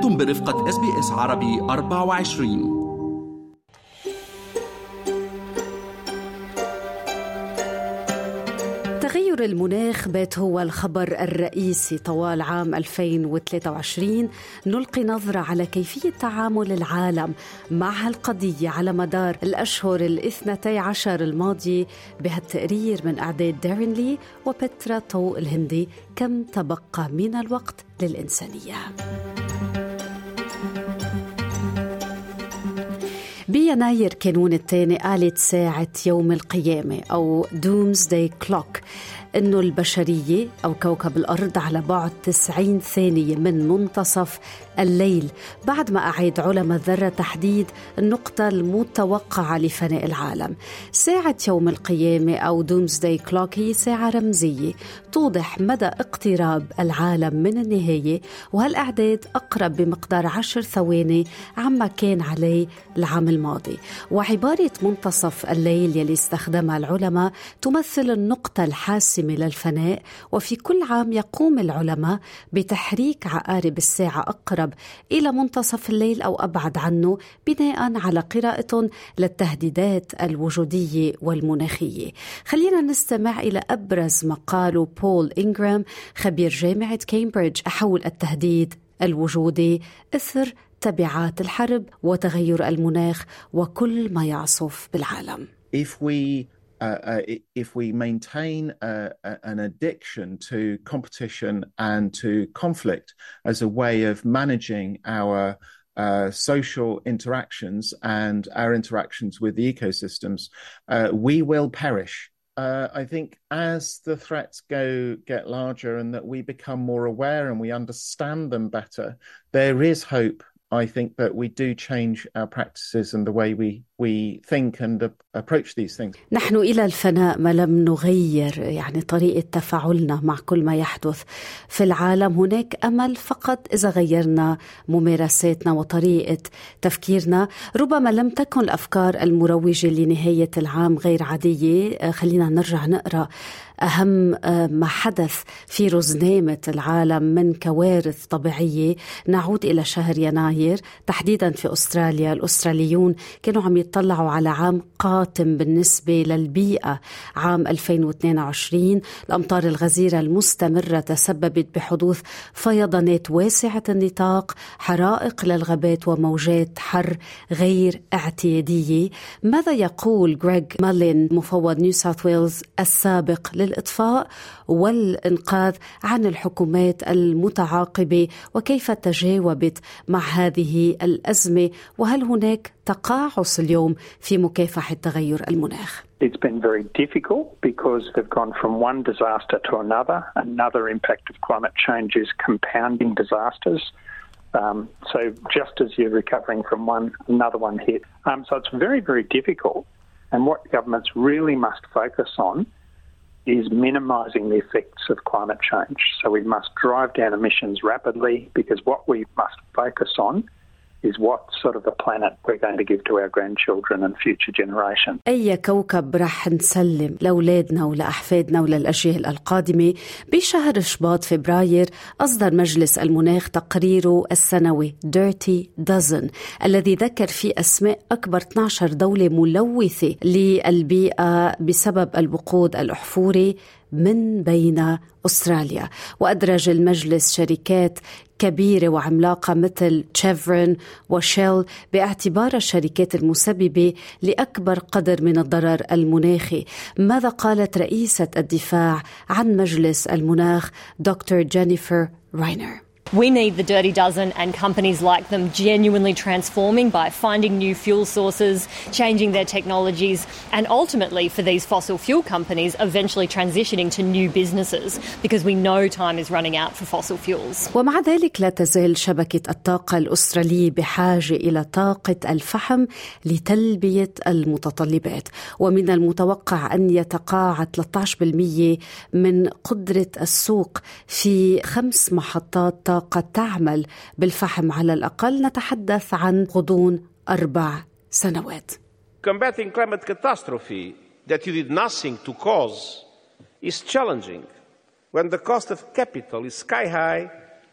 أنتم برفقة SBS عربي 24. تغير المناخ بات هو الخبر الرئيسي طوال عام 2023. نلقي نظرة على كيفية تعامل العالم مع هالقضية على مدار الأشهر 12 الماضية بهالتقرير من إعداد دارين لي وبترا طو الهندي. كم تبقى من الوقت للإنسانية؟ بيناير كانون الثاني قالت ساعة يوم القيامة أو Doomsday Clock إنه البشرية أو كوكب الأرض على بعد 90 ثانية من منتصف الليل، بعد ما أعاد علماء الذرة تحديد النقطة المتوقعة لفناء العالم. ساعة يوم القيامة أو Doomsday Clock هي ساعة رمزية توضح مدى اقتراب العالم من النهاية، وهالأعداد أقرب بمقدار 10 ثواني عما كان عليه العام الماضي. وعبارة منتصف الليل يلي استخدمها العلماء تمثل النقطة الحاسمة للفناء، وفي كل عام يقوم العلماء بتحريك عقارب الساعة أقرب إلى منتصف الليل أو أبعد عنه بناء على قراءة للتهديدات الوجودية والمناخية. خلينا نستمع إلى أبرز ما قاله بول إنغرام خبير جامعة كامبريدج حول التهديد الوجودي إثر تبعات الحرب وتغير المناخ وكل ما يعصف بالعالم. If we maintain an addiction to competition and to conflict as a way of managing our social interactions and our interactions with the ecosystems, we will perish. I think as the threats get larger and that we become more aware and we understand them better, there is hope. I think that we do change our practices and the way we think and approach these things. نحن إلى الفناء ما لم نغير طريقة تفاعلنا مع كل ما يحدث في العالم. هناك أمل فقط إذا غيرنا ممارساتنا وطريقة تفكيرنا. ربما لم تكن الأفكار المروجة لنهاية العام غير عادية. خلينا نرجع نقرأ أهم ما حدث في رزنامة العالم من كوارث طبيعية. نعود إلى شهر يناير تحديدا في أستراليا. الأستراليون كانوا عم يطلعوا على عام قاتم بالنسبة للبيئة. عام 2022 الأمطار الغزيرة المستمرة تسببت بحدوث فيضانات واسعة النطاق، حرائق للغابات وموجات حر غير اعتيادية. ماذا يقول غريغ مالين مفوض نيو ساوث ويلز السابق للإطفاء والإنقاذ عن الحكومات المتعاقبة، وكيف تجاوبت مع هذه الأزمة، وهل هناك تقاعس اليوم في مكافحة تغير المناخ؟ It's been very difficult because they've gone from one disaster to another. Another impact of climate change is compounding disasters. So just as you're recovering from one, another one hit. So it's very, very difficult. And what governments really must focus on is minimising the effects of climate change. So we must drive down emissions rapidly, because what we must focus on is what sort of a planet we're going to give to our grandchildren and future generations. أي كوكب رح نسلم لأولادنا ولأحفادنا وللأجيال القادمة؟ بشهر شباط فبراير أصدر مجلس المناخ تقريره السنوي Dirty Dozen الذي ذكر فيه أسماء أكبر 12 دولة ملوثة للبيئة بسبب الوقود الأحفوري من بين أستراليا. وأدرج المجلس شركات كبيرة وعملاقة مثل تشيفرون وشيل باعتبار الشركات المسببة لأكبر قدر من الضرر المناخي. ماذا قالت رئيسة الدفاع عن مجلس المناخ دكتور جينيفر راينر؟ We need the Dirty Dozen and companies like them genuinely transforming by finding new fuel sources, changing their technologies, and ultimately for these fossil fuel companies eventually transitioning to new businesses, because we know time is running out for fossil fuels. ومع ذلك لا تزال شبكة الطاقة الأسترالية بحاجة إلى طاقة الفحم لتلبية المتطلبات، ومن المتوقع أن يتقاعد 13% من قدرة السوق في 5 محطات طاقة قد تعمل بالفحم على الأقل. نتحدث عن غضون 4 سنوات. Combating climate catastrophe that you did nothing to cause is challenging when the cost of capital is sky high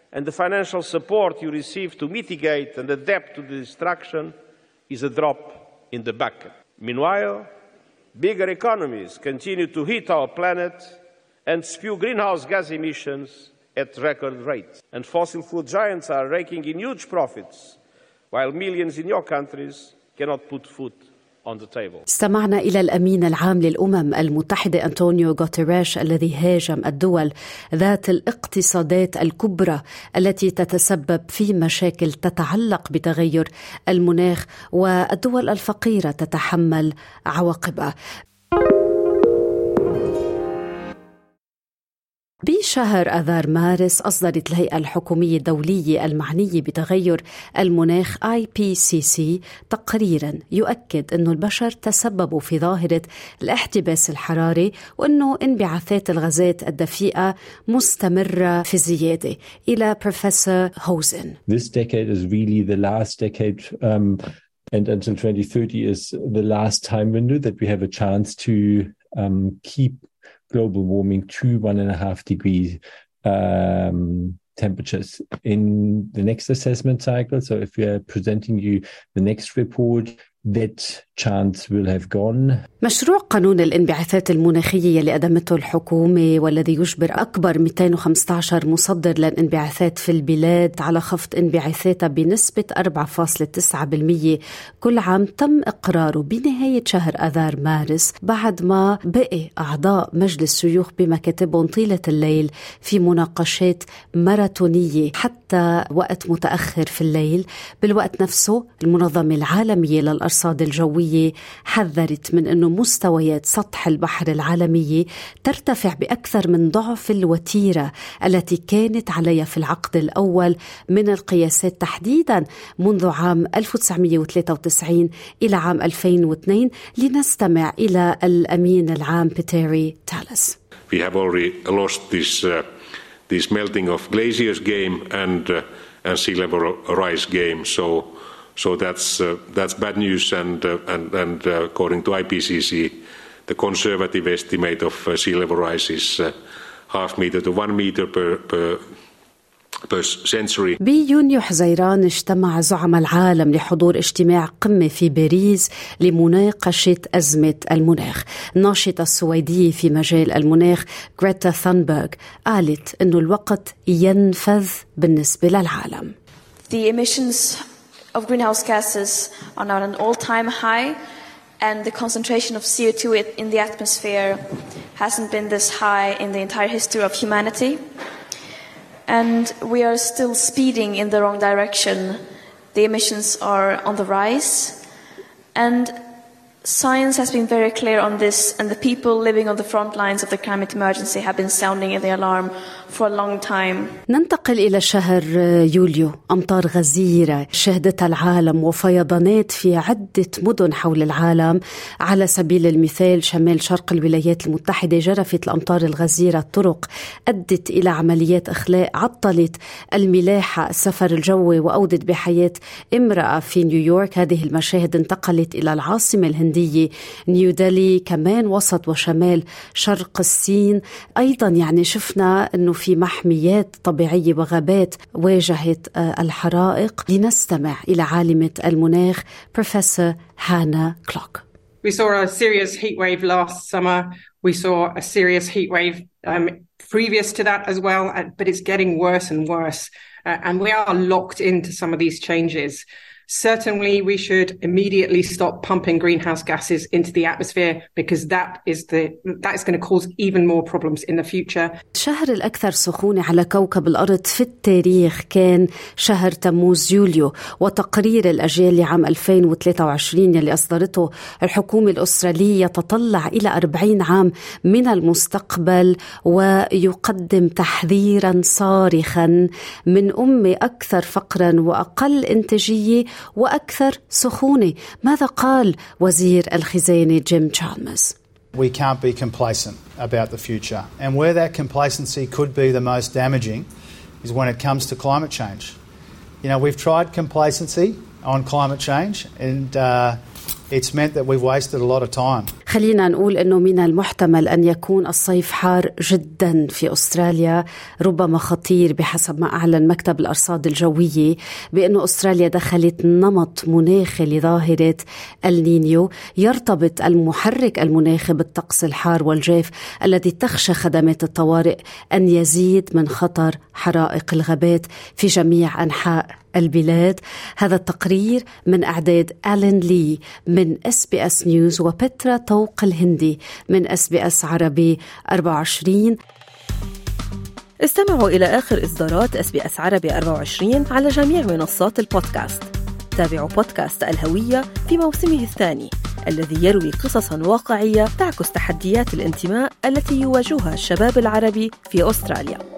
and the financial support you receive to mitigate and adapt to the destruction is a drop in the bucket. Meanwhile, bigger economies continue to heat our planet and spew greenhouse gas emissions at record rates. And fossil fuel giants are raking in huge profits, while millions in your countries cannot put food on the table. استمعنا إلى الأمين العام للأمم المتحدة أنطونيو غوتيريش الذي هاجم الدول ذات الاقتصادات الكبرى التي تتسبب في مشاكل تتعلق بتغير المناخ، والدول الفقيرة تتحمل عواقبها. بشهر آذار مارس أصدرت الهيئة الحكومية الدولية المعنية بتغير المناخ IPCC تقريرا يؤكد أن البشر تسببوا في ظاهرة الاحتباس الحراري، وأنه انبعاثات الغازات الدفيئة مستمرة في زيادة. إلى بروفيسور هوزن. This decade is really the last decade and until 2030 is the last time window that we have a chance to keep global warming to 1.5 degrees temperatures in the next assessment cycle. So if we are presenting you the next report, that chance will have gone. مشروع قانون الانبعاثات المناخية اللي قدمته الحكومة والذي يجبر أكبر 215 مصدر للانبعاثات في البلاد على خفض انبعاثاتها بنسبة 4.9% كل عام تم إقراره بنهاية شهر آذار مارس، بعد ما بقي أعضاء مجلس شيوخ بمكاتبهم طيلة الليل في مناقشات ماراثونية حتى وقت متأخر في الليل. بالوقت نفسه المنظمة العالمية للأرصاد الجوية حذرت من أنه مستويات سطح البحر العالمية ترتفع بأكثر من ضعف الوتيرة التي كانت عليها في العقد الأول من القياسات، تحديدا منذ عام 1993 إلى عام 2002. لنستمع إلى الأمين العام بيتيري تالس. We have already lost this melting of glaciers game and sea level rise game. So that's bad news, and according to IPCC, the conservative estimate of sea level rise is 0.5 meter to 1 meter per century. بيونيو حزيران اجتمع زعماء العالم لحضور اجتماع قمة في باريس لمناقشة أزمة المناخ. الناشطة السويدية في مجال المناخ غريتا ثانبرغ قالت إنه الوقت ينفذ بالنسبة للعالم. The emissions of greenhouse gases are now at an all-time high, and the concentration of CO2 in the atmosphere hasn't been this high in the entire history of humanity. And we are still speeding in the wrong direction. The emissions are on the rise, and science has been very clear on this, and the people living on the front lines of the climate emergency have been sounding the alarm for a long time. ننتقل إلى شهر يوليو. أمطار غزيرة شهدتها العالم وفيضانات في عدة مدن حول العالم. على سبيل المثال شمال شرق الولايات المتحدة جرفت الأمطار الغزيرة الطرق، أدت إلى عمليات إخلاء عطلت الملاحة السفر الجوي وأودت بحياة امرأة في نيويورك. هذه المشاهد انتقلت إلى العاصمة الهندية نيودلهي، كمان وسط وشمال شرق الصين. أيضا يعني شفنا أنه في محميات طبيعية وغابات واجهت الحرائق. لنستمع إلى عالمة المناخ بروفيسور هانا كلوك. We saw a serious heat wave last summer. We saw a serious heat wave previous to that as well, but it's getting worse and worse. And we are locked into some of these changes. Certainly, we should immediately stop pumping greenhouse gases into the atmosphere because that is going to cause even more problems in the future. الشهر الأكثر سخونة على كوكب الأرض في التاريخ كان شهر تموز يوليو، وتقرير الأجيال لعام 2023 يلي أصدرته الحكومة الأسترالية يتطلع إلى 40 عام من المستقبل ويقدم تحذيرا صارخا من أمة أكثر فقرا وأقل إنتاجية وأكثر سخونة. ماذا قال وزير الخزانة جيم تشالمرز؟ We can't be complacent about the future, and where that complacency could be the most damaging is when it comes to climate change. You know, we've tried complacency on climate change, and it's meant that we've wasted a lot of time. خلينا نقول أنه من المحتمل أن يكون الصيف حار جدا في أستراليا، ربما خطير بحسب ما أعلن مكتب الأرصاد الجوية بأنه أستراليا دخلت نمط مناخي لظاهرة النينيو يرتبط المحرك المناخي بالطقس الحار والجاف الذي تخشى خدمات الطوارئ أن يزيد من خطر حرائق الغابات في جميع أنحاء البلاد. هذا التقرير من إعداد آلين لي من SBS نيوز وبترا طوق الهندي من SBS عربي 24. استمعوا إلى آخر إصدارات SBS عربي 24 على جميع منصات البودكاست. تابعوا بودكاست الهوية في موسمه الثاني الذي يروي قصصاً واقعية تعكس تحديات الانتماء التي يواجهها الشباب العربي في أستراليا.